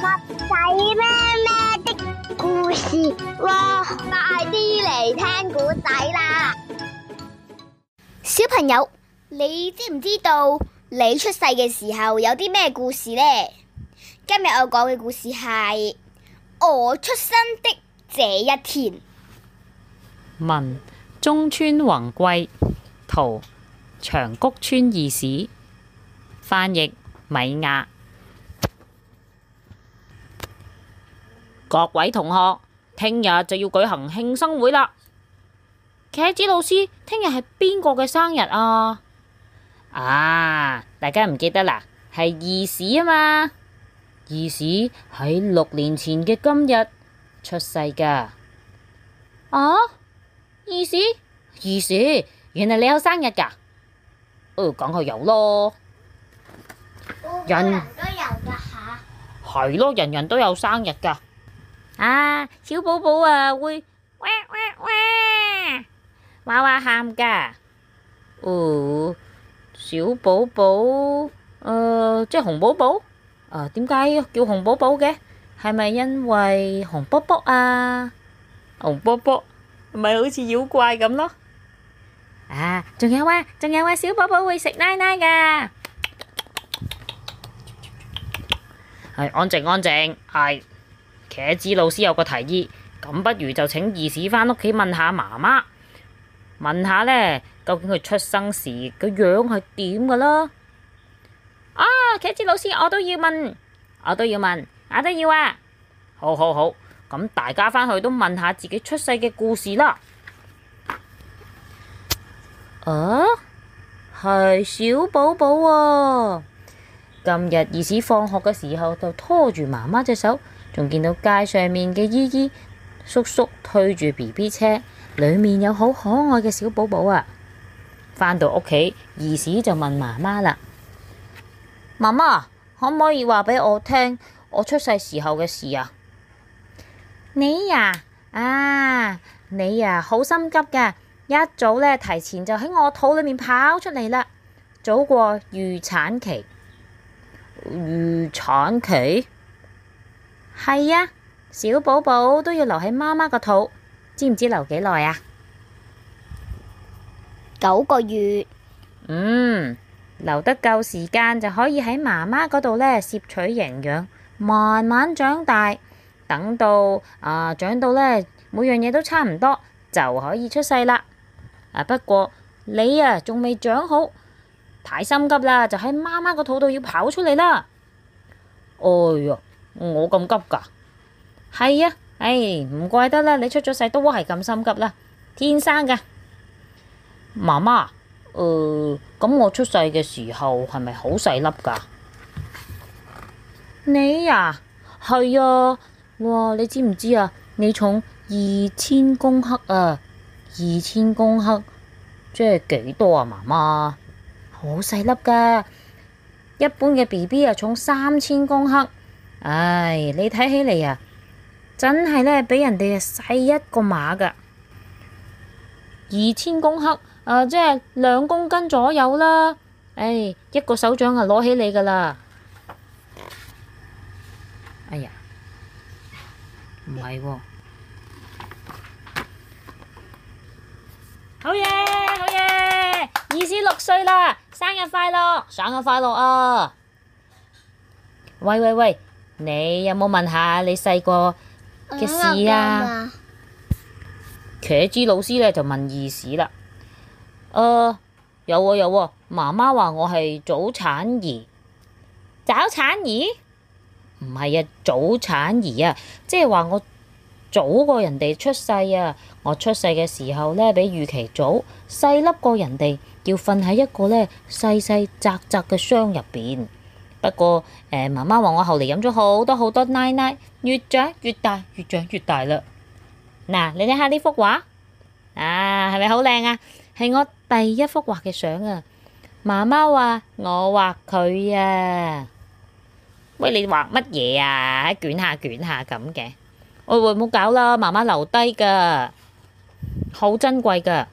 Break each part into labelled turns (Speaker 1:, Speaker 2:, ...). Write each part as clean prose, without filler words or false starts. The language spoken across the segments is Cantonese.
Speaker 1: 仔咩咩的故事喎，快啲嚟聽古仔啦！小朋友，你知唔知道你出世嘅時候有啲咩故事呢？今日我講嘅故事係我出生的這一天。
Speaker 2: 文中村宏貴，圖長谷川義史，翻譯米亞。各位同學，聽日就要舉行慶生會啦。茄子老師，聽日係邊個嘅生日啊？大家唔記得啦，係義史啊嘛。義史喺6年前嘅今日出世噶。義史，原來你有生日噶？梗係有咯。人人都有噶吓？係咯，人人都有生日噶。小寶寶會哇哇喊噶。小寶寶即係紅寶寶。點解叫紅寶寶嘅？係咪因為紅卜卜啊？紅卜卜咪好似妖怪咁咯。仲有小寶寶會食奶奶噶。係安靜。係茄子老師有個提議，咁不如就請義史返屋企問下媽媽，問下呢，究竟佢出生時個樣係點噶啦？茄子老師，我都要問啊！好，咁大家返去都問下自己出世嘅故事啦。係小寶寶喎。今日義史放學嘅時候就拖住媽媽隻手，仲見到街上面嘅姨姨叔叔推住 BB 車，裏面有好可愛嘅小寶寶啊。返到屋企，義史就問媽媽啦：媽媽，可唔可以話俾我聽我出世時候嘅事啊？你呀好心急噶，一早呢提前就喺我肚裏面跑出嚟啦，早過預產期。預產期？係啊，小寶寶都要留喺媽媽個肚，知唔知留幾耐啊？9個月。留得夠時間就可以喺媽媽嗰度呢攝取營養，慢慢長大，等到長到呢每樣嘢都差唔多，就可以出世啦。不過你仲未長好，太心急啦，就喺媽媽個肚度要跑出嚟啦。我咁急噶？係啊，唔怪得啦，你出咗世都係咁心急啦，天生噶。媽媽，咁我出世嘅時候係咪好細粒噶？你係啊，哇！你知唔知啊？你重2000公克啊！2000公克即係幾多啊？媽媽，好細粒噶，一般嘅 BB 重3000公克。你睇起嚟真係呢，比人哋細一個碼噶。2000公克即係2公斤左右啦。一個手掌攞起你噶啦。唔係喎。好嘢！義史6歲啦，生日快樂啊！喂，你有冇問下你細個嘅事啊？茄子老師呢就問義史啦。有喎，媽媽話我係早產兒。早產兒？唔係啊，早產兒啊，即係話我早過人哋出世啊。我出世嘅時候呢，比預期早，細粒過人哋，要瞓喺一個呢細細窄窄嘅箱入邊。不過媽媽話我後嚟飲咗好多奶奶，越長越大啦。嗱，你睇下呢幅畫，係咪好靚啊？係我第一幅畫嘅相啊！媽媽話我畫佢啊。喂，你畫乜嘢啊？捲下咁嘅。喂，唔好搞啦，媽媽留低噶，好珍貴噶。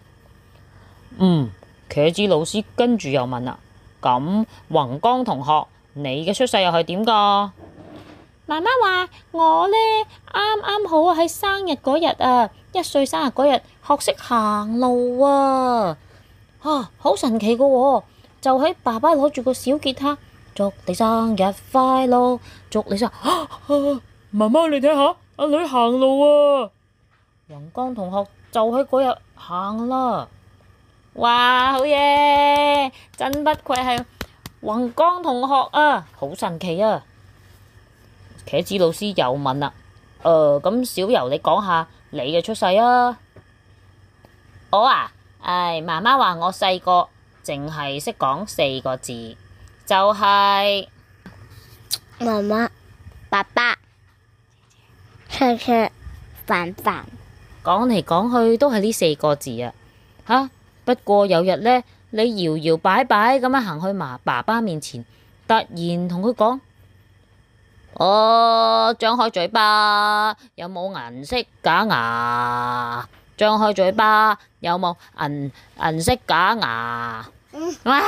Speaker 2: 茄子老師跟住又問啦，咁宏剛同學，你嘅出世又係點噶？ 媽媽話我呢啱啱好喺生日嗰日啊，1歲生日嗰日學識行路啊，好神奇噶喎！就喺爸爸攞住個小吉他，祝你生日快樂，祝你生日。媽媽你睇下，阿女行路啊！宏江同學就喺嗰日行啦。哇，好嘢！真不愧係宏江同學啊，好神奇啊！茄子老師又問啦，咁小柔你講下你嘅出世啊？我啊，媽媽話我細個淨係識講4個字，就係
Speaker 1: 媽媽、爸爸、車車、飯飯。
Speaker 2: 講嚟講去都係呢4個字啊！不過有日呢，你搖搖擺擺咁樣行去爸爸面前，突然同佢講：張開嘴巴，有冇銀色假牙？張開嘴巴，有冇銀色假牙？哇！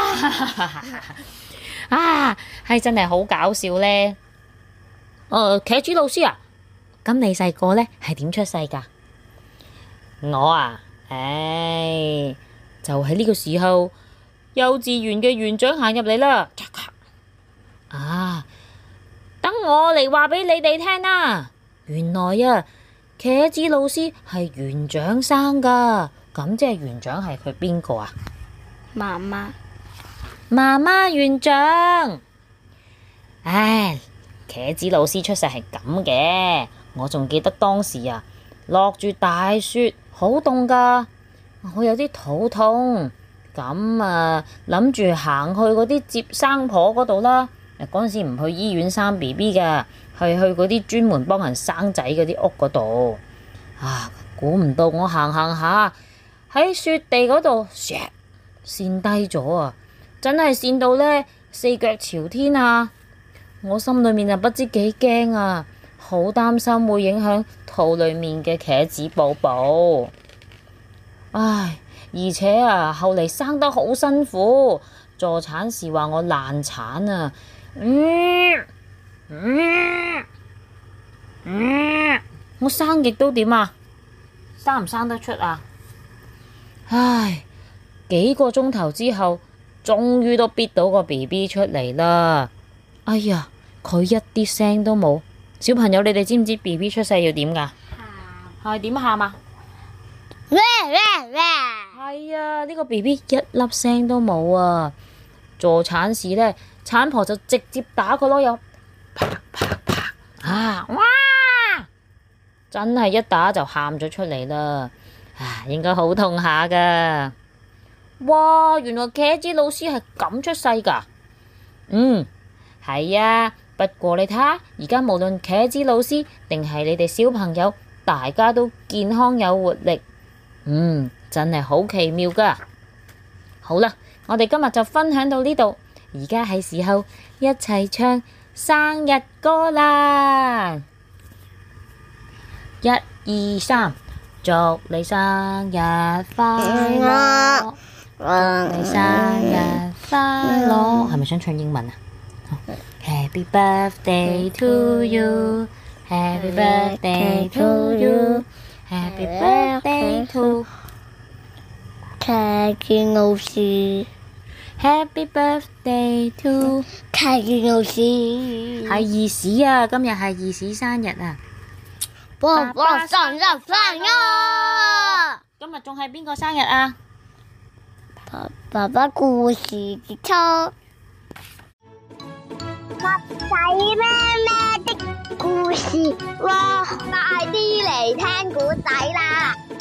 Speaker 2: 係真係好搞笑呢。茄子老師啊，咁你細個呢係點出世噶？我啊，就喺呢個時候，幼稚園嘅園長行入嚟啦。等我嚟話俾你哋聽啦。原來啊，茄子老師係園長生噶，咁即係園長係佢邊個啊？
Speaker 1: 媽媽
Speaker 2: 園長。茄子老師出世係咁嘅，我仲記得當時啊，落住大雪，好凍噶，我有啲肚痛，咁啊諗住行去嗰啲接生婆嗰度啦。嗰陣時唔去醫院生 BB 噶，係去嗰啲專門幫人生仔嗰啲屋嗰度。估唔到我行下喺雪地嗰度，跣低咗啊！真係跣到呢，4腳朝天啊！我心裏面就不知幾驚啊，好擔心會影響肚裏面嘅茄子寶寶。而且啊，後嚟生得好辛苦，助產士話我難產啊！我生極都點啊？生唔生得出啊？幾個鐘頭之後，終於都逼到個 BB 出嚟啦！哎呀，佢一啲聲都冇。小朋友，你哋知唔知 BB 出世要點噶？係點喊啊？係啊，呢個 BB 一粒聲都冇啊！助產士呢，產婆就直接打佢咯，又啪啪啪哇！真係一打就喊咗出嚟啦，應該好痛下噶。哇，原來茄子老師係咁出世噶。係啊，不過你睇下，而家無論茄子老師定係你哋小朋友，大家都健康有活力。真係好奇妙噶。好啦，我哋今日就分享到呢度，而家係時候一齊唱生日歌啦！1、2、3，祝你生日快樂，祝你生日快樂。係咪想唱英文啊？Happy birthday to you, Happy birthday to you, Happy birthday to
Speaker 1: 茄子老師。
Speaker 2: Happy birthday to
Speaker 1: 茄子老師。
Speaker 2: 係兒時啊，今日係兒時生日啊！
Speaker 1: 爸爸生日快樂！
Speaker 2: 今日仲係邊個生日啊？
Speaker 1: 爸爸故事結束。襪仔咩咩的故事，哇！快啲嚟聽故仔啦！